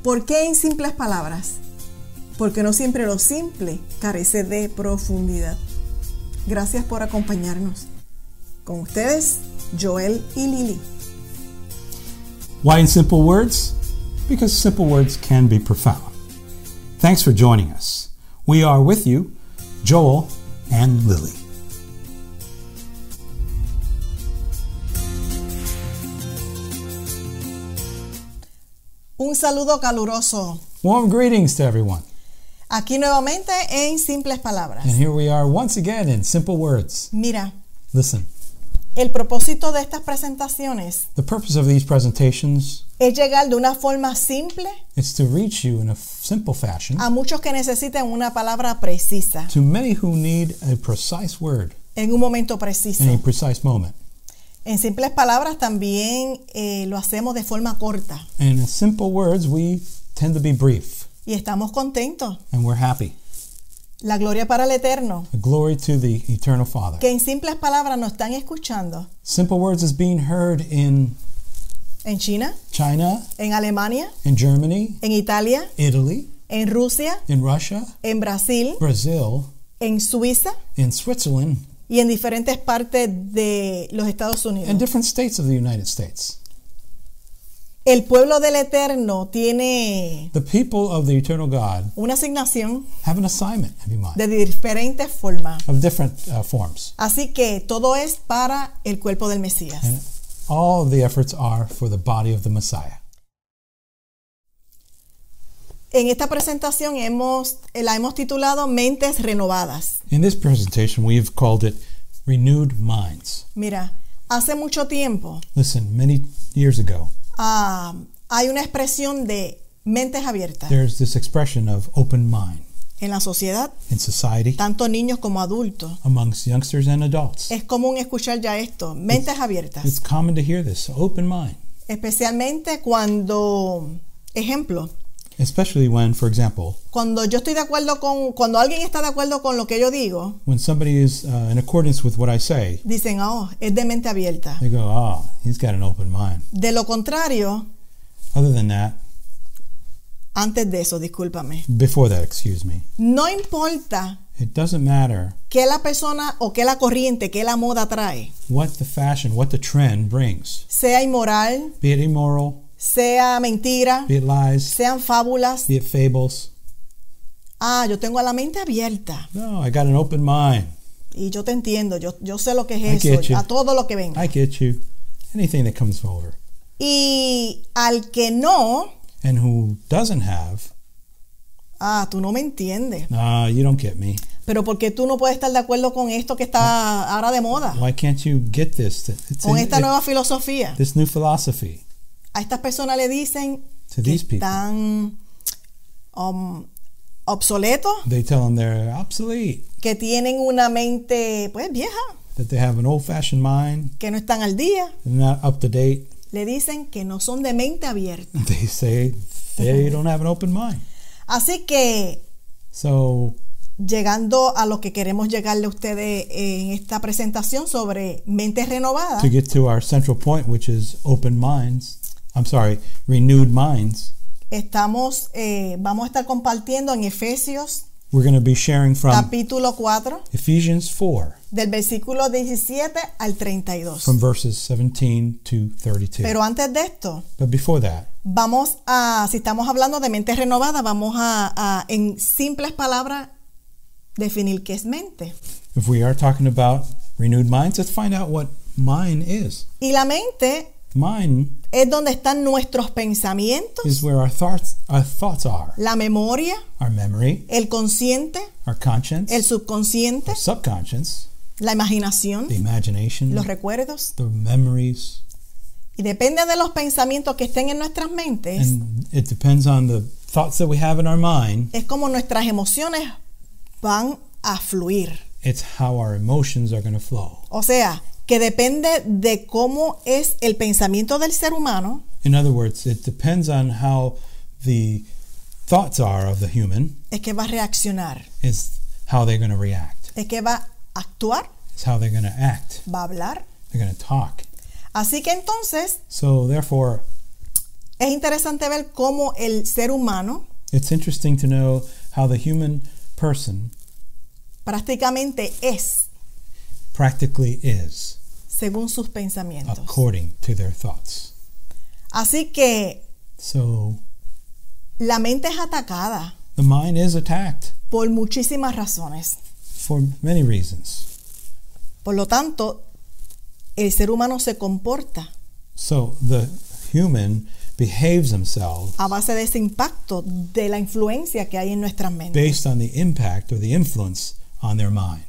¿Por qué en simples palabras? Porque no siempre lo simple carece de profundidad. Gracias por acompañarnos. Con ustedes, Joel y Lily. Why in simple words? Because simple words can be profound. Thanks for joining us. We are with you, Joel and Lily. Un saludo caluroso. Warm greetings to everyone. Aquí nuevamente en simples palabras. And here we are once again in simple words. Mira, Listen, el propósito de estas presentaciones the purpose of these presentations es llegar de una forma simple is to reach you in a simple fashion a muchos que necesiten una palabra precisa, to many who need a precise word en un momento preciso. in a precise moment. En simples palabras también lo hacemos de forma corta And in simple words, we tend to be brief, y estamos contentos. and we're happy. La gloria para el Eterno, Glory to the Eternal Father. que en simples palabras nos están escuchando Simple words is being heard in en China, China, en Alemania, in Germany, en Italia, Italy, en Rusia, in Russia, en Brasil, Brazil, en Suiza in Switzerland, y en diferentes partes de los Estados and Unidos. different states of the United States. El pueblo del Eterno tiene The people of the Eternal God una asignación have an assignment, have you mind, de diferentes formas. of different forms. Así que todo es para el cuerpo del Mesías. And all of the efforts are for the body of the Messiah. En esta presentación la hemos titulado Mentes Renovadas. In this presentation, we have called it Renewed Minds. Mira, hace mucho tiempo Listen, many years ago, hay una expresión de mentes abiertas there's this expression of open mind en la sociedad, in society, tanto niños como adultos. amongst youngsters and adults. Es común escuchar ya esto, mentes abiertas. It's common to hear this, open mind, Especialmente cuando, ejemplo, especially when, for example, cuando alguien está de acuerdo con lo que yo digo, when somebody is in accordance with what I say, dicen, oh, es de mente abierta. they go, ah, he's got an open mind. De lo contrario, Other than that, antes de eso, discúlpame, before that, excuse me, no importa it doesn't matter qué la persona o qué la corriente, qué la moda trae, what the fashion, what the trend brings, sea inmoral, be it immoral, sea mentira, be it lies, sean fábulas. be it fables. Yo tengo la mente abierta No, I got an open mind. y yo te entiendo, yo sé lo que I es get eso, you. a todo lo que venga. I get you. Anything that comes over. Y al que no, And who doesn't have, tú no me entiendes. you don't get me. Pero ¿por qué tú no puedes estar de acuerdo con esto que está ahora de moda? Why can't you get this? Con esta nueva filosofía. This new philosophy. A estas personas le dicen To que these people. están obsoletos, They tell them they're obsolete, que tienen una mente pues vieja, that they have an old-fashioned mind, que no están al día. they're not up to date. Le dicen que no son de mente abierta. They say they don't have an open mind. Así que So, llegando a lo que queremos llegarle a ustedes en esta presentación sobre mentes renovadas, to get to our central point, which is renewed minds, vamos a estar compartiendo en Efesios we're going to be sharing from capítulo 4 Ephesians 4, del versículo 17 al 32. from verses 17 to 32. Pero antes de esto, But before that, si estamos hablando de mente renovada, vamos a en simples palabras definir qué es mente. if we are talking about renewed minds, let's find out what mind is. Y la mente Mind es donde están nuestros pensamientos, is where our thoughts are. la memoria, Our memory, el consciente, our conscience, el subconsciente, our subconscious, la imaginación, the imagination, los recuerdos. the memories, Y depende de los pensamientos que estén en nuestras mentes, and it depends on the thoughts that we have in our mind. es como nuestras emociones van a fluir. It's how our emotions are going to flow. O sea, que depende de cómo es el pensamiento del ser humano, In other words, it depends on how the thoughts are of the human, es que va a reaccionar, is how they're going to react. es que va a actuar, It's how they're going to act. va a hablar. They're going to talk. Así que entonces, So therefore, Es interesante ver cómo el ser humano It's interesting to know how the human person prácticamente es practically is según sus pensamientos. according to their thoughts. Así que So la mente es atacada the mind is attacked por muchísimas razones. for many reasons. Por lo tanto, el ser humano se comporta So the human behaves himself a base de ese impacto de la influencia que hay en nuestras mentes. based on the impact or the influence on their mind.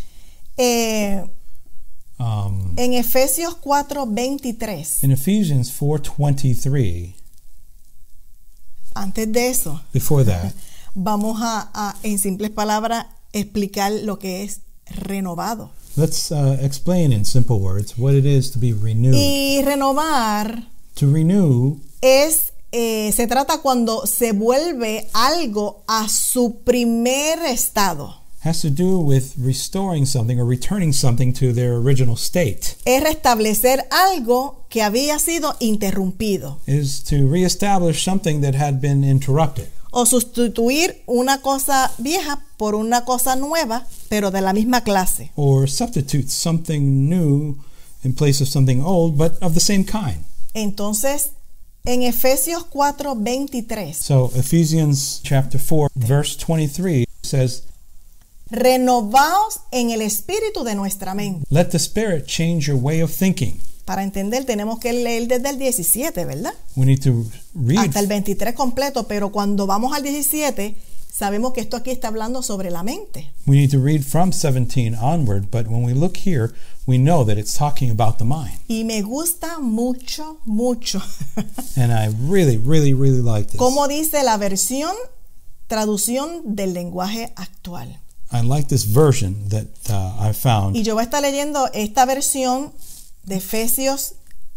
En Efesios 4:23, In Ephesians 4:23, antes de eso, before that, vamos a en simples palabras, explicar lo que es renovado. let's explain in simple words what it is to be renewed. Y renovar To renew se trata cuando se vuelve algo a su primer estado. has to do with restoring something or returning something to their original state. Es restablecer algo que había sido interrumpido Is to reestablish something that had been interrupted, o sustituir una cosa vieja por una cosa nueva, pero de la misma clase. or substitute something new in place of something old but of the same kind. Entonces, en Efesios 4:23, So Ephesians chapter 4 verse 23 says, renovaos en el espíritu de nuestra mente. let the Spirit change your way of thinking. Para entender tenemos que leer desde el 17, ¿verdad? We need to read Hasta el 23 completo, pero cuando vamos al 17, sabemos que esto aquí está hablando sobre la mente. We need to read from 17 onward, but when we look here, we know that it's talking about the mind. Y me gusta mucho, mucho And I really, really, really like this. cómo dice la traducción del lenguaje actual. I like this version that I found. Y yo voy a estar leyendo esta versión de Efesios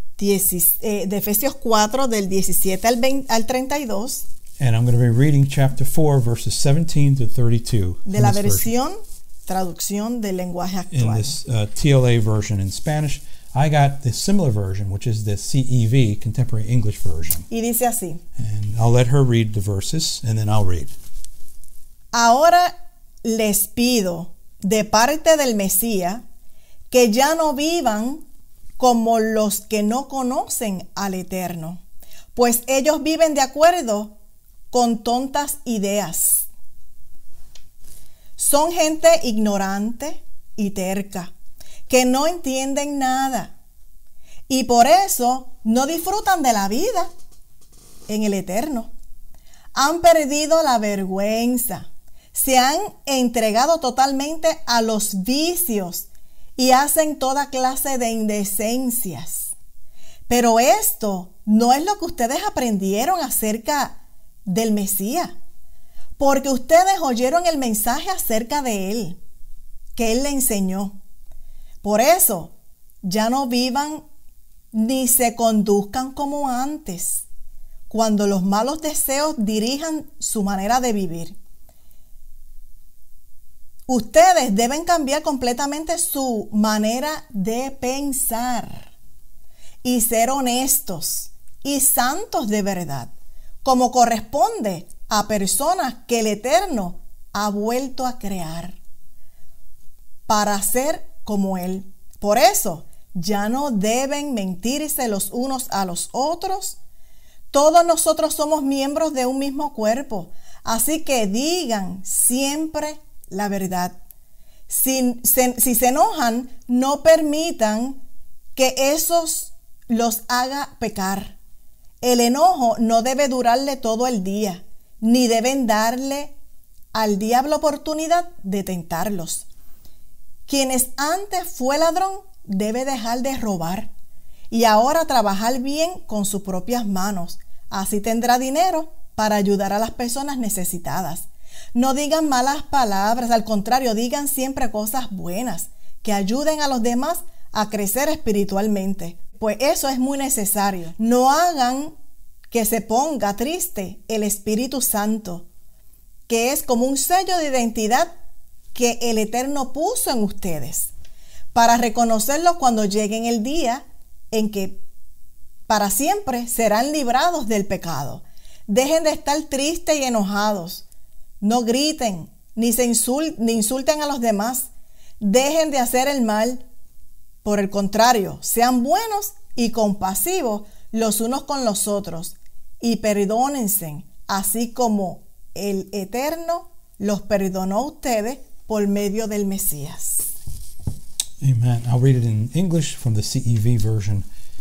4 del 17 al 32 And I'm going to be reading chapter 4, verses 17 to 32. de in la this version. versión traducción del lenguaje In actual. this TLA version in Spanish. I got the similar version, which is the CEV, Contemporary English Version. Y dice así: And I'll let her read the verses, and then I'll read. ahora les pido de parte del Mesías que ya no vivan como los que no conocen al Eterno, pues ellos viven de acuerdo con tontas ideas. Son gente ignorante y terca, que no entienden nada, y por eso no disfrutan de la vida en el Eterno. Han perdido la vergüenza, se han entregado totalmente a los vicios y hacen toda clase de indecencias. Pero esto no es lo que ustedes aprendieron acerca del Mesías, porque ustedes oyeron el mensaje acerca de él, que él le enseñó. Por eso, ya no vivan ni se conduzcan como antes, cuando los malos deseos dirijan su manera de vivir. Ustedes deben cambiar completamente su manera de pensar y ser honestos y santos de verdad, como corresponde a personas que el Eterno ha vuelto a crear para ser como Él. Por eso, ya no deben mentirse los unos a los otros. Todos nosotros somos miembros de un mismo cuerpo, así que digan siempre la verdad. Si se enojan, no permitan que eso los haga pecar. El enojo no debe durarle todo el día, ni deben darle al diablo oportunidad de tentarlos. Quienes antes fue ladrón debe dejar de robar y ahora trabajar bien con sus propias manos. Así tendrá dinero para ayudar a las personas necesitadas. No digan malas palabras, al contrario, digan siempre cosas buenas que ayuden a los demás a crecer espiritualmente, pues eso es muy necesario. No hagan que se ponga triste el Espíritu Santo, que es como un sello de identidad que el Eterno puso en ustedes, para reconocerlo cuando llegue el día en que para siempre serán librados del pecado. Dejen de estar tristes y enojados. No griten ni insulten a los demás. Dejen de hacer el mal. Por el contrario, sean buenos y compasivos los unos con los otros y perdónense, así como el Eterno los perdonó a ustedes por medio del Mesías. Amen. I'll read it in English from the CEV version.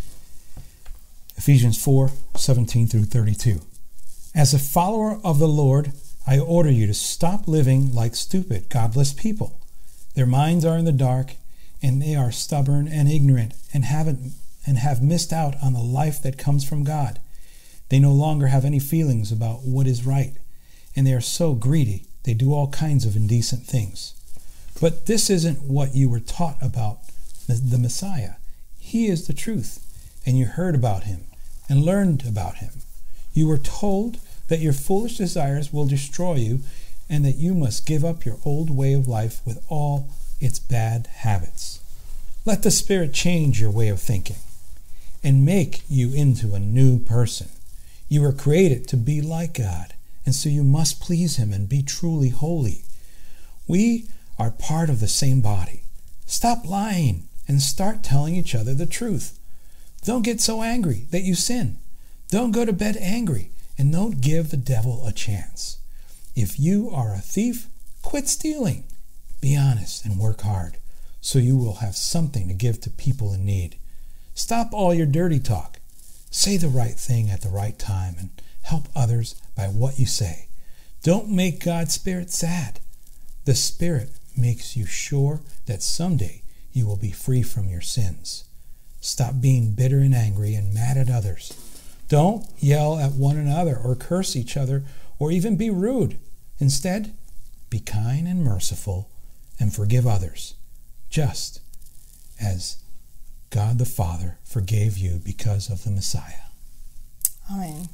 Ephesians 4:17 through 32. As a follower of the Lord, I order you to stop living like stupid, godless people. Their minds are in the dark, and they are stubborn and ignorant and have missed out on the life that comes from God. They no longer have any feelings about what is right, and they are so greedy they do all kinds of indecent things. But this isn't what you were taught about the Messiah. He is the truth, and you heard about him and learned about him. You were told that your foolish desires will destroy you and that you must give up your old way of life with all its bad habits. Let the Spirit change your way of thinking and make you into a new person. You were created to be like God, and so you must please him and be truly holy. We are part of the same body. Stop lying and start telling each other the truth. Don't get so angry that you sin. Don't go to bed angry, and don't give the devil a chance. If you are a thief, quit stealing. Be honest and work hard, so you will have something to give to people in need. Stop all your dirty talk. Say the right thing at the right time and help others by what you say. Don't make God's Spirit sad. The Spirit makes you sure that someday you will be free from your sins. Stop being bitter and angry and mad at others. Don't yell at one another or curse each other or even be rude. Instead, be kind and merciful and forgive others, just as God the Father forgave you because of the Messiah. Amén.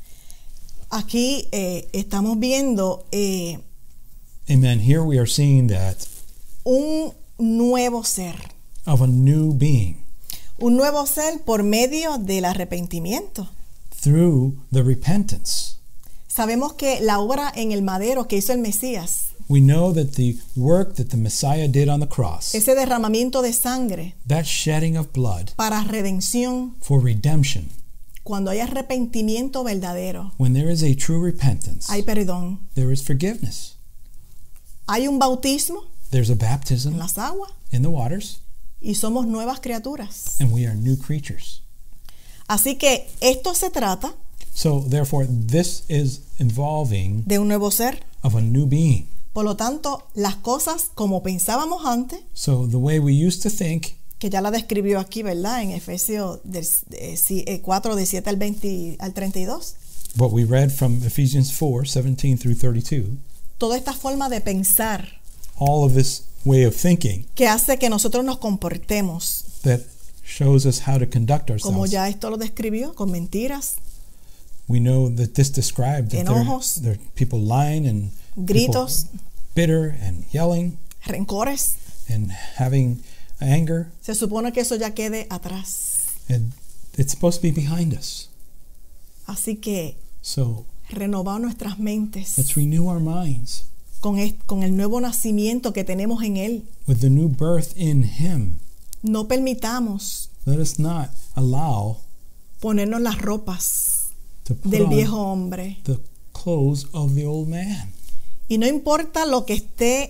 Aquí estamos viendo Amen. Here we are seeing that un nuevo ser. of a new being Un nuevo ser por medio del arrepentimiento. through the repentance. Sabemos que la obra en el madero que hizo el Mesías, We know that the work that the Messiah did on the cross, ese derramamiento de sangre that shedding of blood para redención, for redemption, cuando hay arrepentimiento verdadero, when there is a true repentance, hay perdón. there is forgiveness. Hay un bautismo There's a en baptism las aguas in the waters, y somos nuevas criaturas. and we are new creatures. Así que esto se trata So therefore, this is involving de un nuevo ser. of a new being. Por lo tanto, las cosas como pensábamos antes, So the way we used to think, que ya la describió aquí, ¿verdad? En Efesios 4, de 7 al 20 al 32. what we read from Ephesians 4:17 through 32, Toda esta forma de pensar all of this way of thinking que hace que nosotros nos comportemos, that shows us how to conduct como ourselves. ya esto lo describió, con mentiras, We know that this described that enojos, there are people lying and gritos, people bitter and yelling rencores. and having anger. Se supone que eso ya quede atrás. And it's supposed to be behind us. Así que So renovar nuestras mentes let's renew our minds con el nuevo nacimiento que tenemos en Él. with the new birth in Him. No permitamos Let us not allow ponernos las ropas to put del on viejo hombre. the clothes of the old man. Y no importa lo que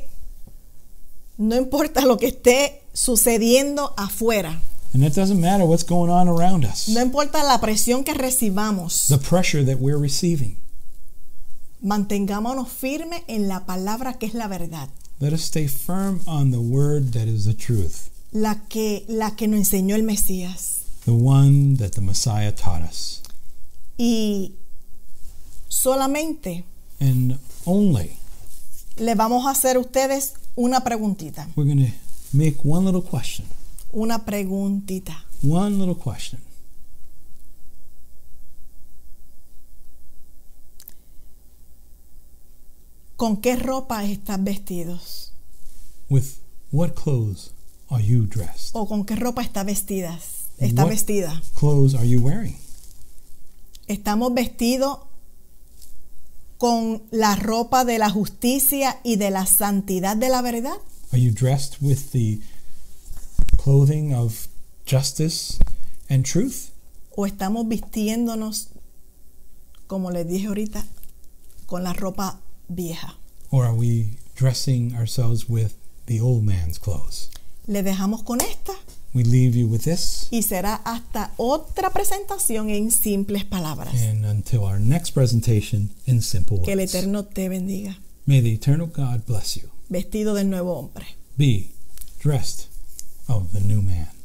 esté sucediendo afuera. And it doesn't matter what's going on around us, No importa la presión que recibamos. the pressure that we're receiving. Mantengámonos firmes en la palabra que es la verdad. Let us stay firm on the word that is the truth, La que nos enseñó el Mesías. the one that the Messiah taught us. Y solamente And only le vamos a hacer a ustedes una preguntita. we're going to make one little question. Una preguntita. One little question. ¿Con qué ropa estás vestidos? With what clothes are you dressed? ¿O con qué ropa estás vestidas? está What vestida? clothes are you wearing? ¿Estamos vestidos con la ropa de la justicia y de la santidad de la verdad? Are you dressed with the clothing of justice and truth? ¿O estamos vistiéndonos, como les dije ahorita, con la ropa vieja? Or are we dressing ourselves with the old man's clothes? Le dejamos con esta We leave you with this, y será hasta otra presentación en simples palabras. and until our next presentation, in simple Que el words. Eterno te bendiga. May the eternal God bless you. Vestido del nuevo hombre. Be dressed of the new man.